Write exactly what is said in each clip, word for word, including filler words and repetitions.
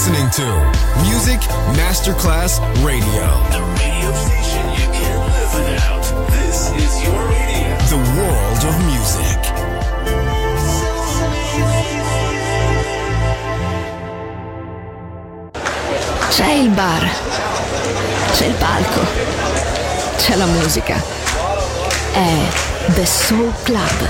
listening to Music Masterclass Radio. The radio station you can't live without. This is your radio. The world of music. C'è il bar, c'è il palco, c'è la musica. È The Soul Club.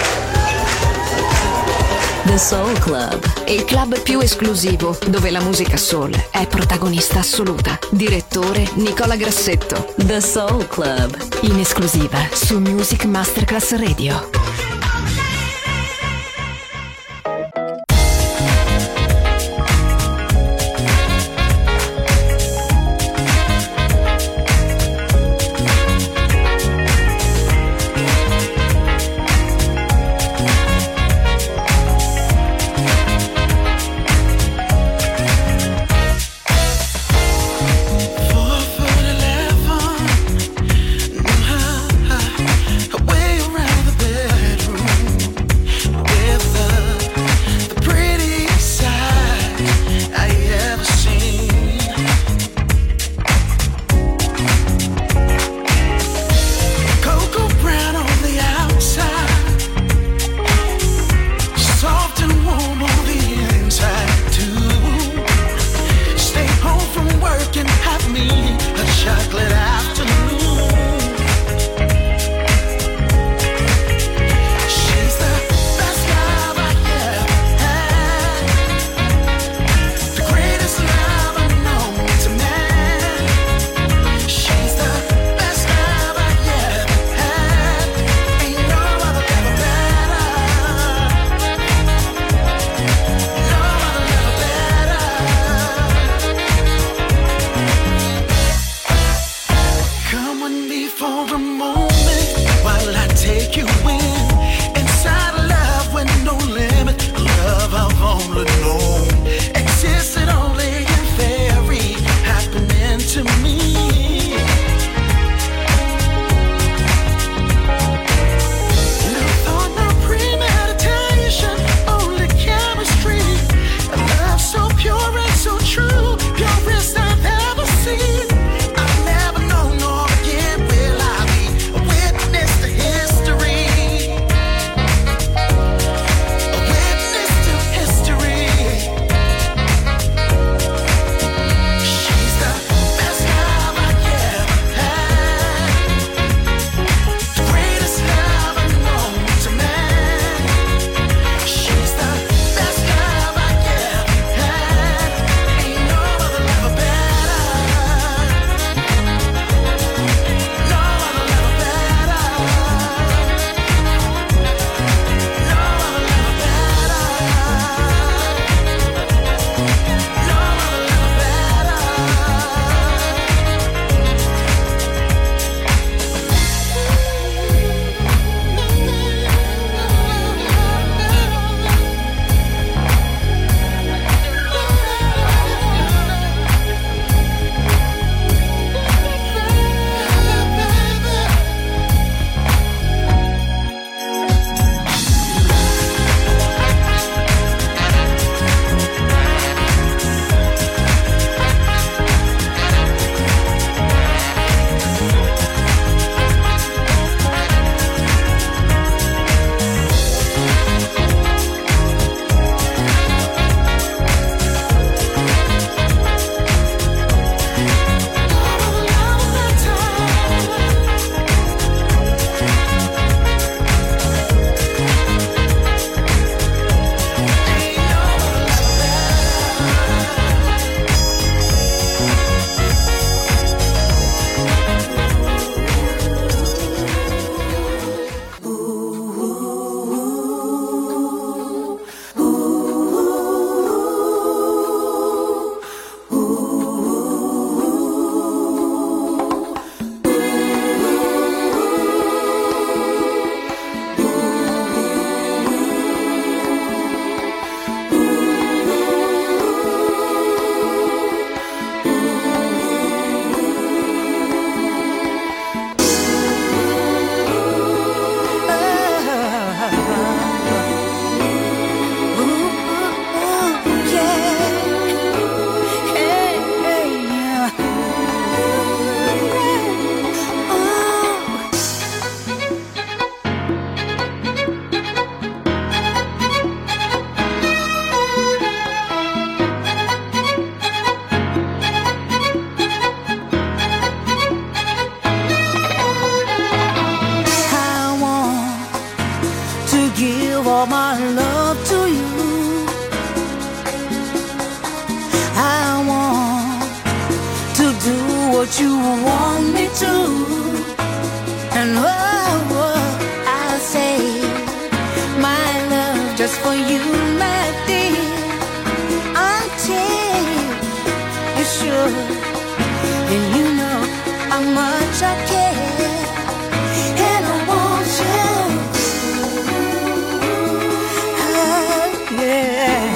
The Soul Club, il club più esclusivo dove la musica soul è protagonista assoluta. Direttore Nicola Grassetto. The Soul Club, in esclusiva su Music Masterclass Radio. Way around the bed. my love to you. I want to do what you want me to. And oh, oh I'll say my love just for you, my dear, until you're sure and you know how much I care. And I want you, oh, yeah.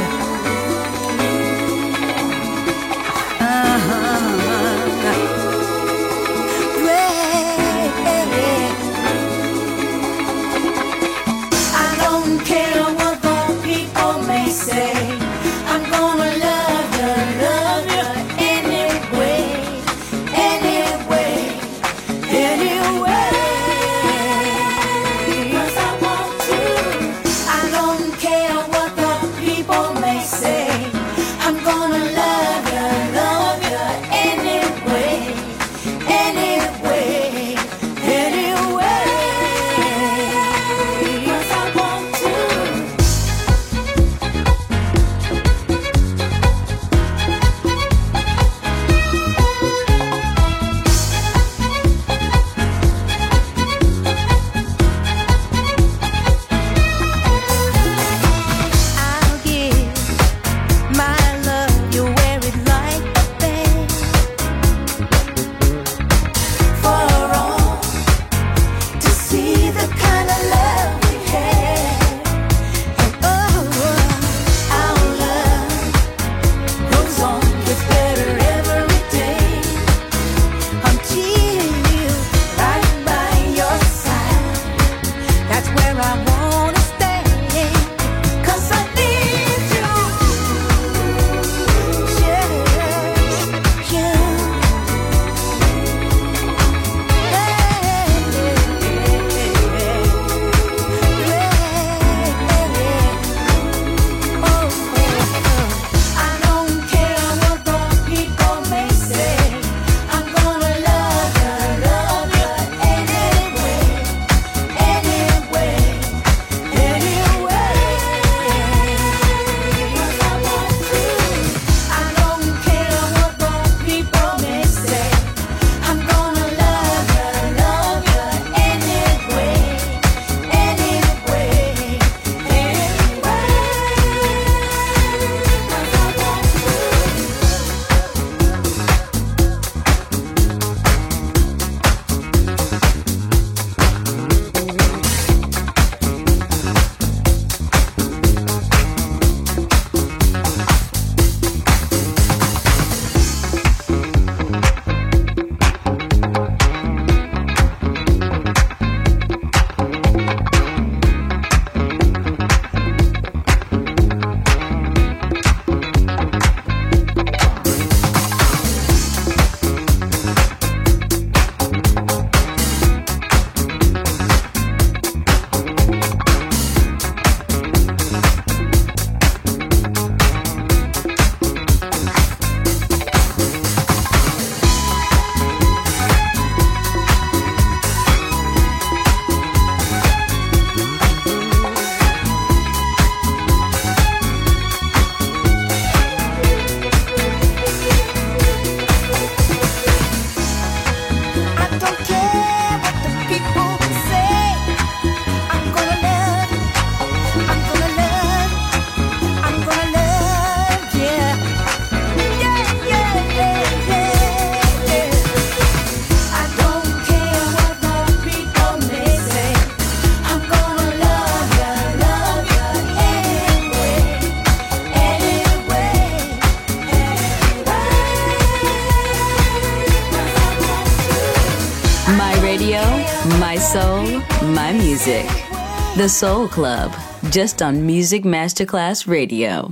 My soul, my music. The Soul Club, just on Music Masterclass Radio.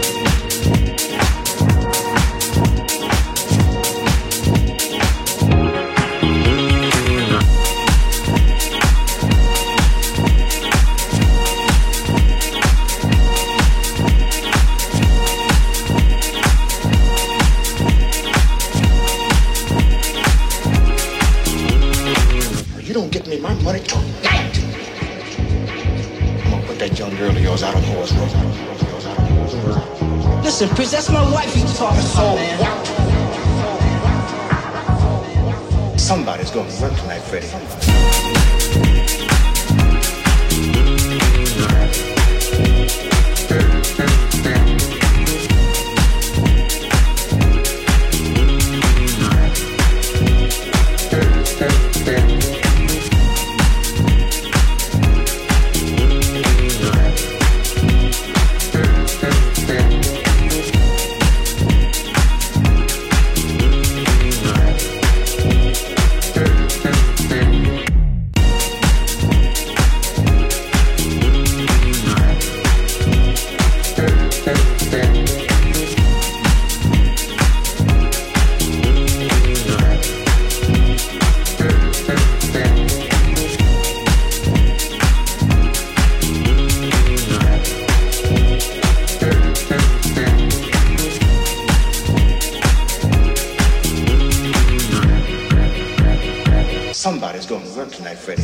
We'll be right back. don't get me my money tonight, I'm gonna put that young girl of yours out on horse road. Listen, Prince, that's my wife you talking So about, man. what? Somebody's gonna work tonight, Freddie. Somebody's gonna work tonight, Freddie.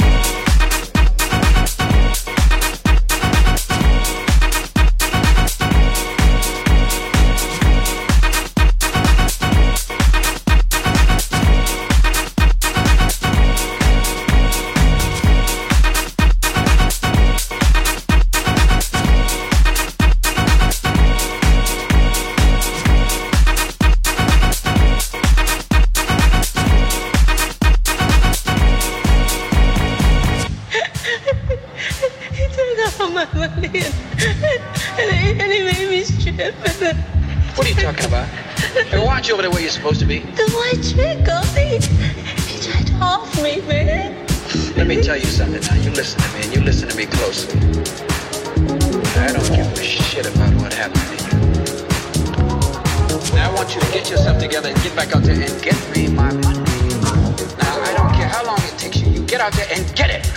What are you talking about? Hey, why aren't you over there where you're supposed to be? The white chick, Goldie. He tried to off me, man. Let me tell you something now. You listen to me, and you listen to me closely. I don't give a shit about what happened to you. Now I want you to get yourself together and get back out there and get me my money. Now I don't care how long it takes you. You get out there and get it.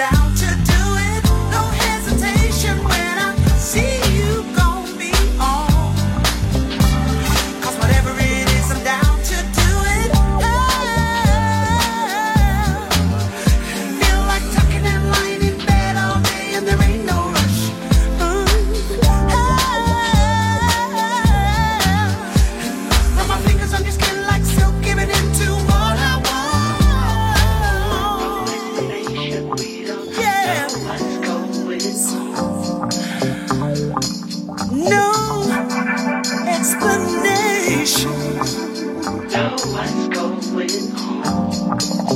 down to do it. No hesitation when I see you gon' be on. 'Cause whatever it is, I'm down to do it. Oh, feel like tucking and lying in bed all day and there ain't no rush. Mm. Oh, rub my fingers on your skin like silk, giving into what I want. Yeah. No explanation. Know what's going on.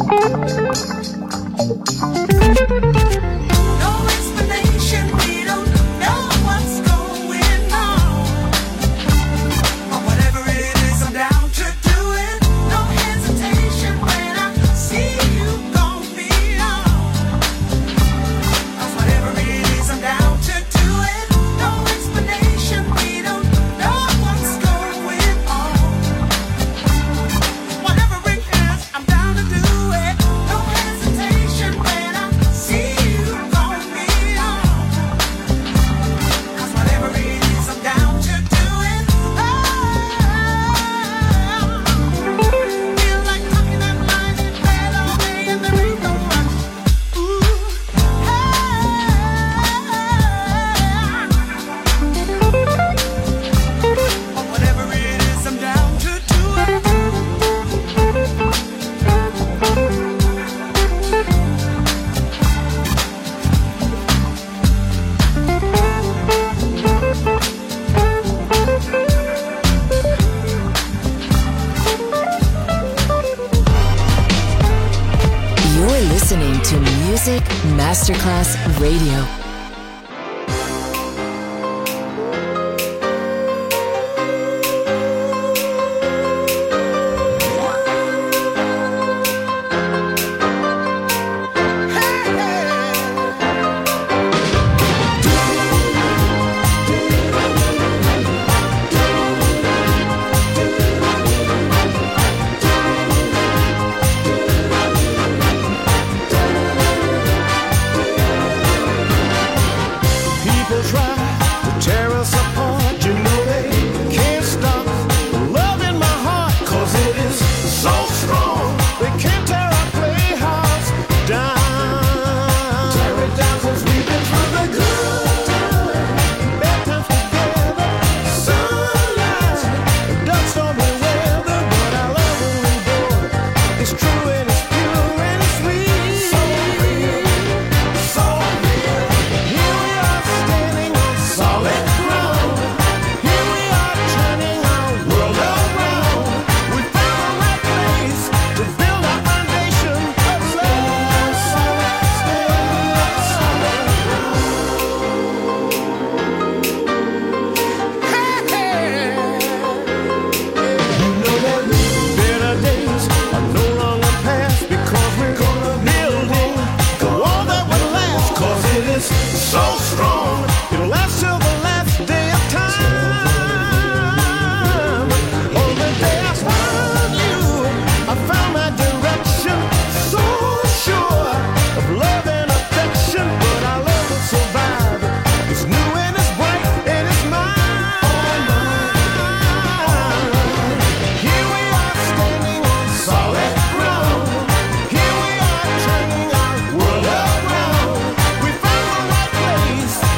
No explanation. We don't know what's going on. But whatever it is, I'm down to do it. No hesitation when I see you gon' be on. 'Cause whatever it is, I'm down to do it. No explanation. We don't know what's going on. Whatever it is, I'm down to do it. No hesitation when I see you gon' be on. 'Cause whatever it is, I'm down to do it. Oh, feel like talking and lying in bed all day and there ain't no rush. Ooh, but whatever it is, I'm down to do it. You're listening to Music Masterclass Radio. People try to tear us apart, you know they can't stop loving my heart, 'cause it is so strong. They can't tear our playhouse down. Tear it down 'cause we've been through the good times, bad times together, sunlight, dark stormy weather, but our love will endure. It's true and it's pure and it's sweet. So real, so real. Here we are standing on solid ground. Here we are turning our world around. We found the right place to build our foundation of love. Solid, solid ground. Hey, hey. You know that better days are no longer past because we're building the wall that will last. 'Cause it is so strong, it'll last till the last day of time. On the day I found you, I found my direction. So sure of love and affection, but our love will survive. It's new and it's bright and it's mine. Here we are standing on solid ground. Here we are turning our world around. We found the right place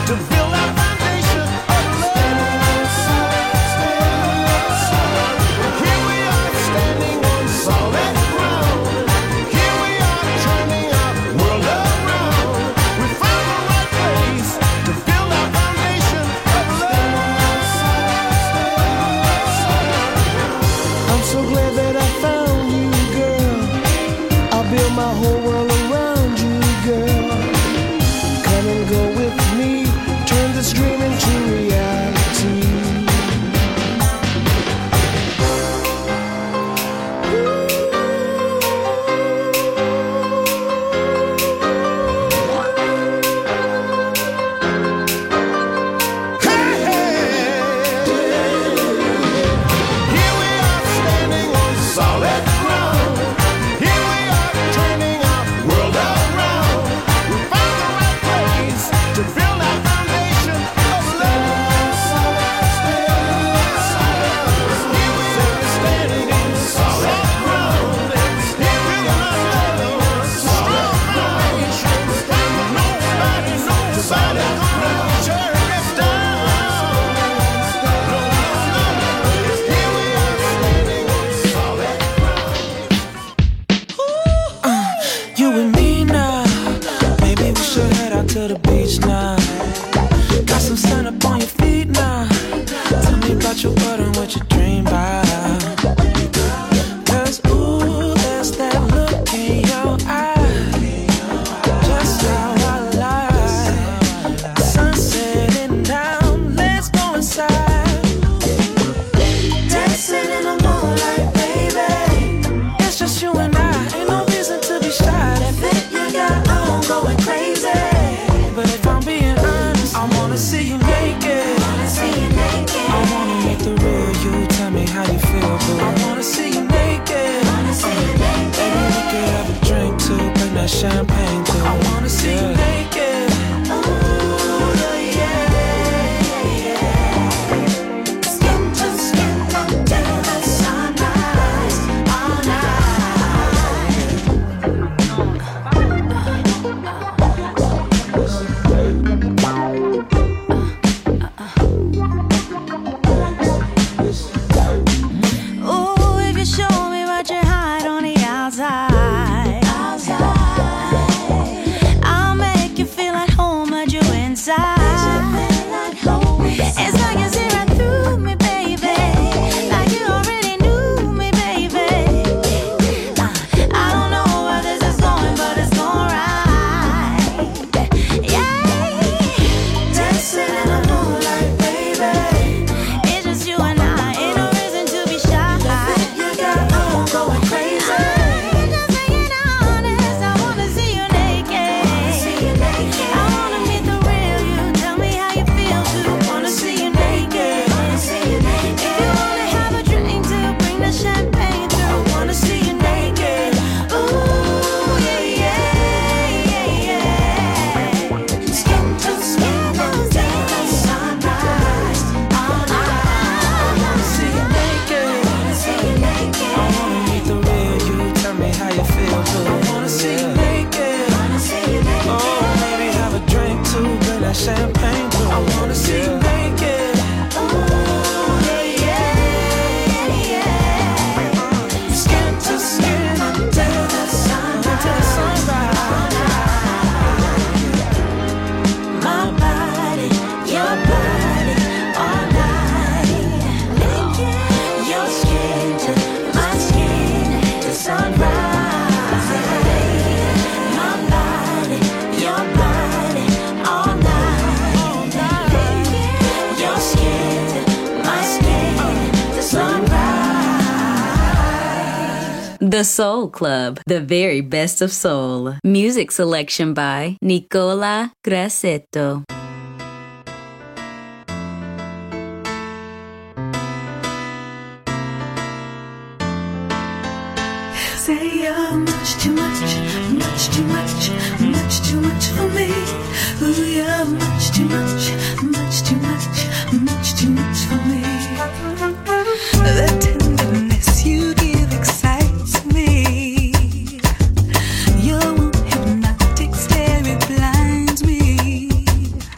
out to the beach now. Got some sun up on your feet now. Tell me about your world and what you dream about. Cause ooh, there's that look in your eye, just how I like. Sun setting down, let's go inside. Dancing in the moonlight, baby. It's just you and I, ain't no reason to be shy. That fit you got on going crazy. But if I'm being honest, I wanna see you naked. I wanna meet the real you, tell me how you feel, boo. I wanna see you naked. Baby, we could have a drink too, bring that champagne too. I wanna see you naked. Ooh, yeah, yeah, yeah. Skin to skin until the sunrise, all Ooh, if you show me what you hide on the outside, I'll make you feel at home, but you inside. It's like you see right through me, baby, like you already knew me, baby. Uh, I don't know where this is going, but it's going right. Yeah, dancing in the moonlight, baby. It's just you and I, ain't no reason to be shy. You got on going crazy. I'm just being honest, I wanna see you naked. I wanna meet the real you, tell me how you feel too. Wanna see you naked. If you wanna have a drink to bring the champagne through. Wanna see you naked. Ooh, yeah, yeah, yeah, yeah. Skin to skin until the sunrise, all night. I wanna see you naked. I wanna meet the real you, tell me how you feel, boo. I wanna see you naked. Oh, maybe have a drink too, bring that champagne too. I wanna see you naked. Ooh, yeah, yeah, yeah. Skin to skin Until the sunrise, all night. My body, your body, all night. Your skin to my skin, to sunrise. My body, your body, all night. Your skin to my skin, to sunrise. The Soul Club, the very best of soul. Music selection by Nicola Grassetto. Say you're much too much, much too much, much too much for me. Ooh, you're much too much, much too much, much too much for me. The tenderness you give excites me. Your warm hypnotic stare, it blinds me.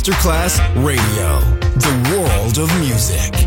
Masterclass Radio, the world of music.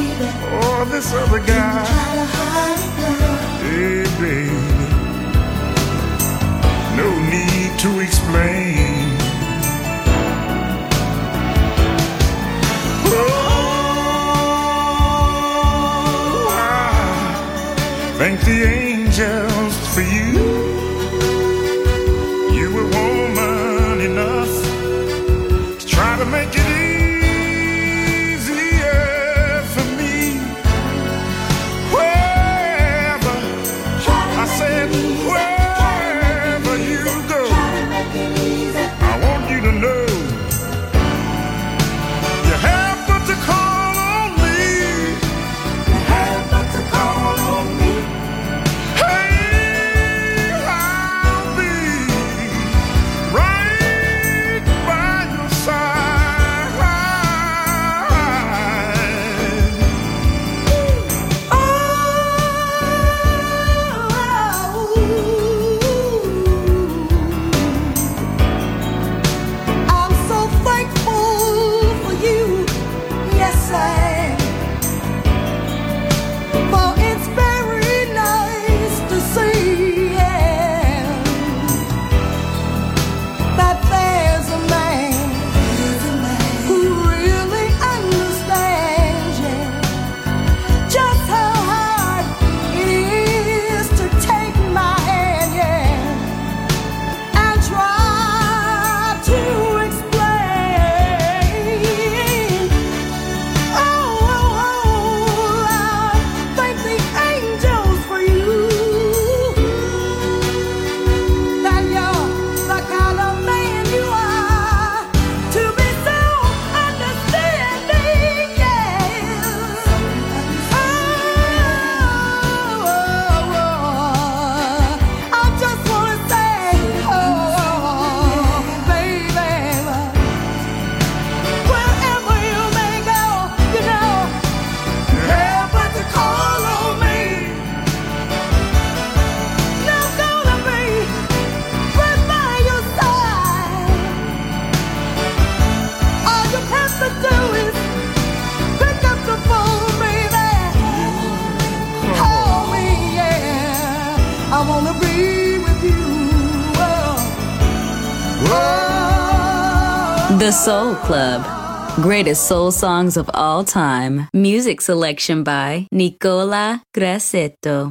This other guy, hey baby, thank the angels for you. You were woman enough to try to make it easier for me. Wherever, I said, wherever you go, I want you to know you have but to call on me. You have but to call on me. Hey, I'll be right by your side. Oh, I'm so thankful for you. Yes, I am. For it's very nice to see, yeah, that there's a man who really understands, yeah, just how hard it is to take my hand, yeah, and try to explain. Oh, oh, oh, I thank the angels for you. That you're the kind of man you are, to be so understanding, yes. Oh, I just wanna say, oh, baby, wherever you may go, you know, you have but to call on me. And I'm gonna be right by your side. All you have to do is pick up the phone, baby. Call me, yeah. I wanna be with you. Oh, oh. The Soul Club. Greatest soul songs of all time. Music selection by Nicola Grassetto.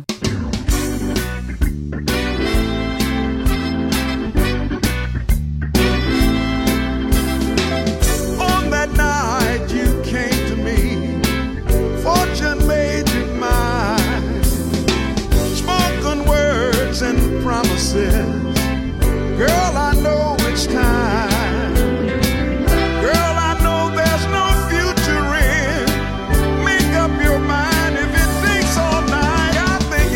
On that night you came to me, fortune made you mine. Spoken words and promises, girl, I know it's time. Girl, I know there's no future in. Make up your mind if it takes all night. I think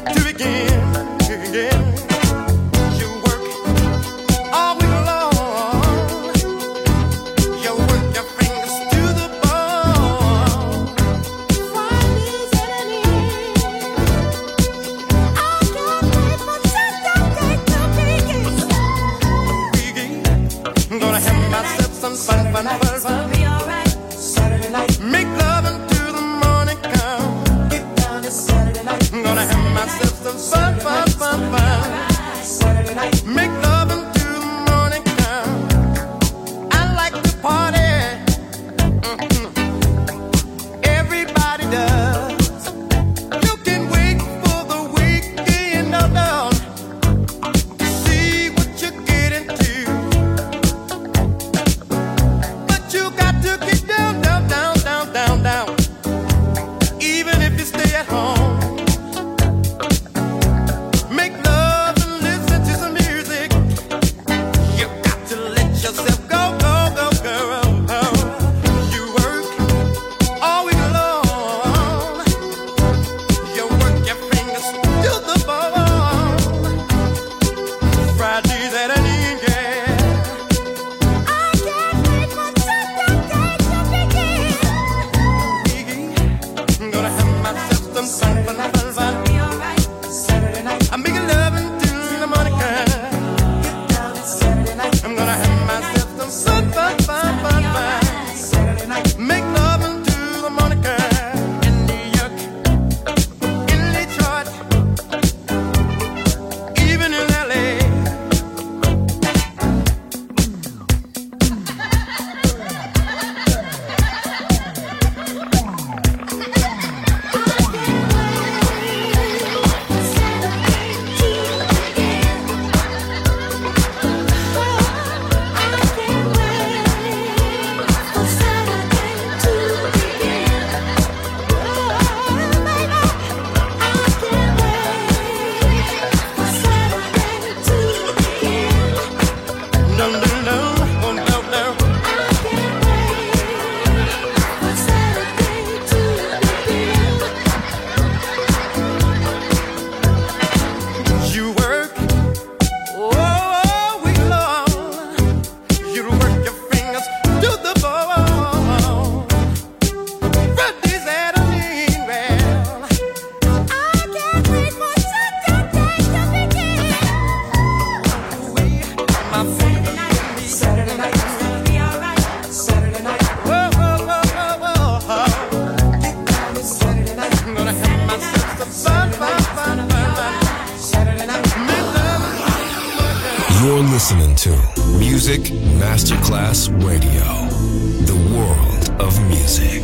to begin again. You work all week long. You work your fingers to the bone. Friday's at an end. I can't wait for Saturday to begin. I'm gonna have myself some fun, fun, fun, fun. Saturday night. Make love until the morning come. Get down to Saturday night. I'm gonna have myself some fun, fun, fun, fun. Saturday night. Make love until the morning come. I like to party. Mm-hmm. Everybody does. You can wait for the weekend, no, no. See what you get into. But you got to get down, down, down, down, down, down. Even if you stay at home. Make love and listen to some music. You got to let yourself go, go, go, girl. You work all week long. You work your fingers to the bone. Friday's at an end, yeah. I can't wait for Saturday to begin. I'm gonna have myself some fun, fun, fun, fun. Saturday night. I'm making love until the morning comes. I'm gonna have myself some fun, fun, fun, fun, fun. Saturday night. Make love until the morning comes. In New York, in Detroit, even in L A. No, no, no, oh, no, no. You work all week long. You work your fingers to the bone. Friday's at an end, well. I can't wait for Saturday to begin. My baby, Saturday night, gonna be alright. Saturday night, whoa, whoa, whoa, whoa, whoa. Get down to Saturday night. I'm gonna have myself some fun, fun, fun, fun, fun. Saturday night, make love. You're listening to Music Masterclass Radio, the world of music.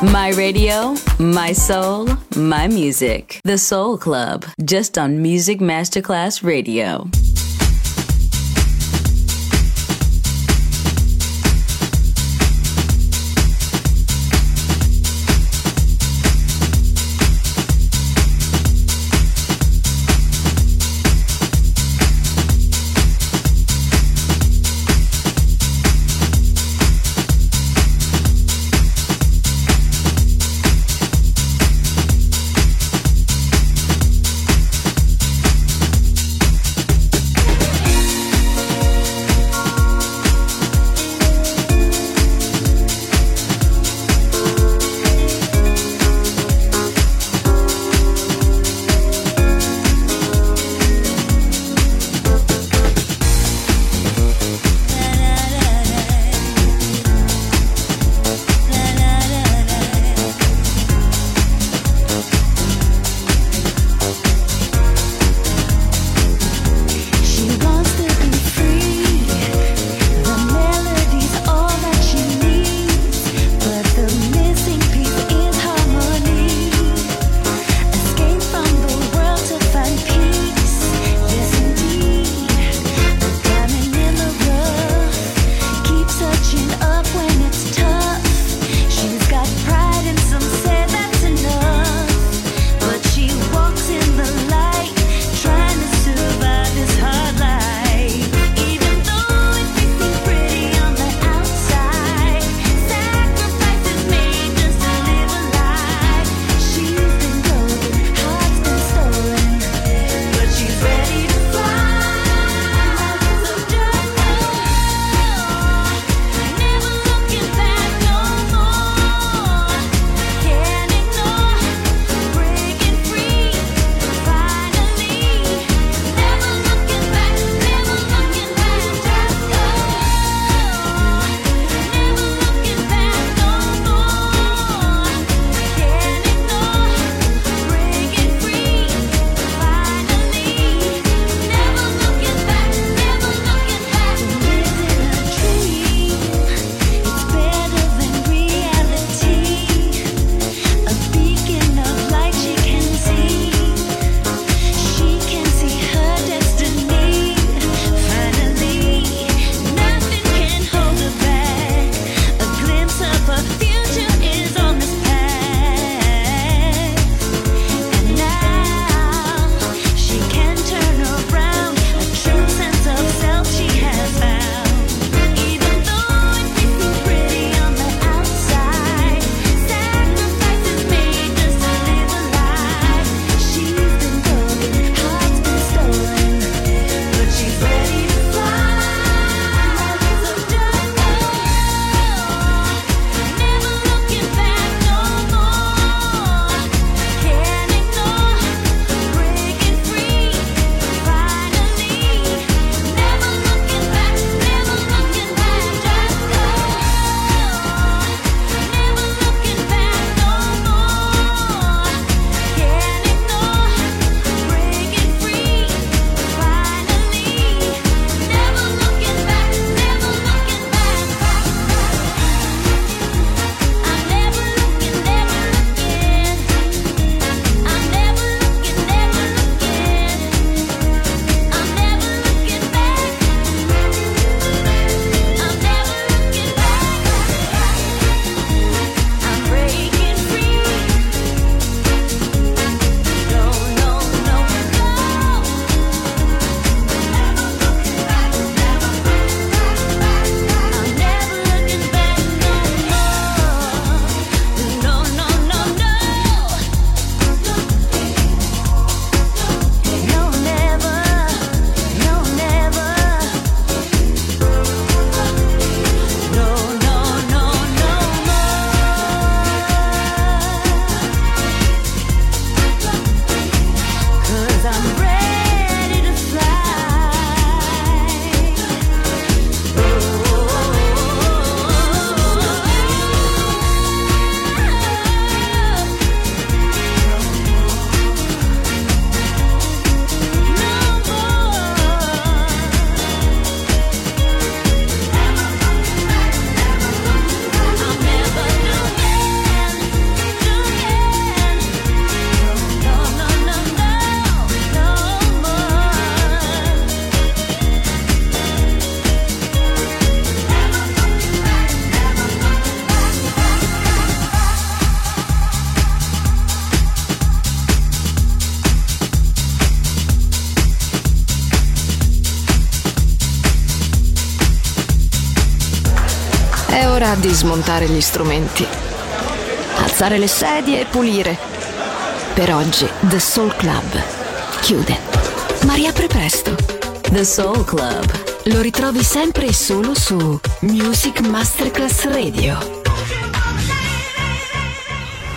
My radio, my soul, my music. The Soul Club, just on Music Masterclass Radio. È ora di smontare gli strumenti, alzare le sedie e pulire. Per oggi The Soul Club chiude, ma riapre presto. The Soul Club lo ritrovi sempre e solo su Music Masterclass Radio.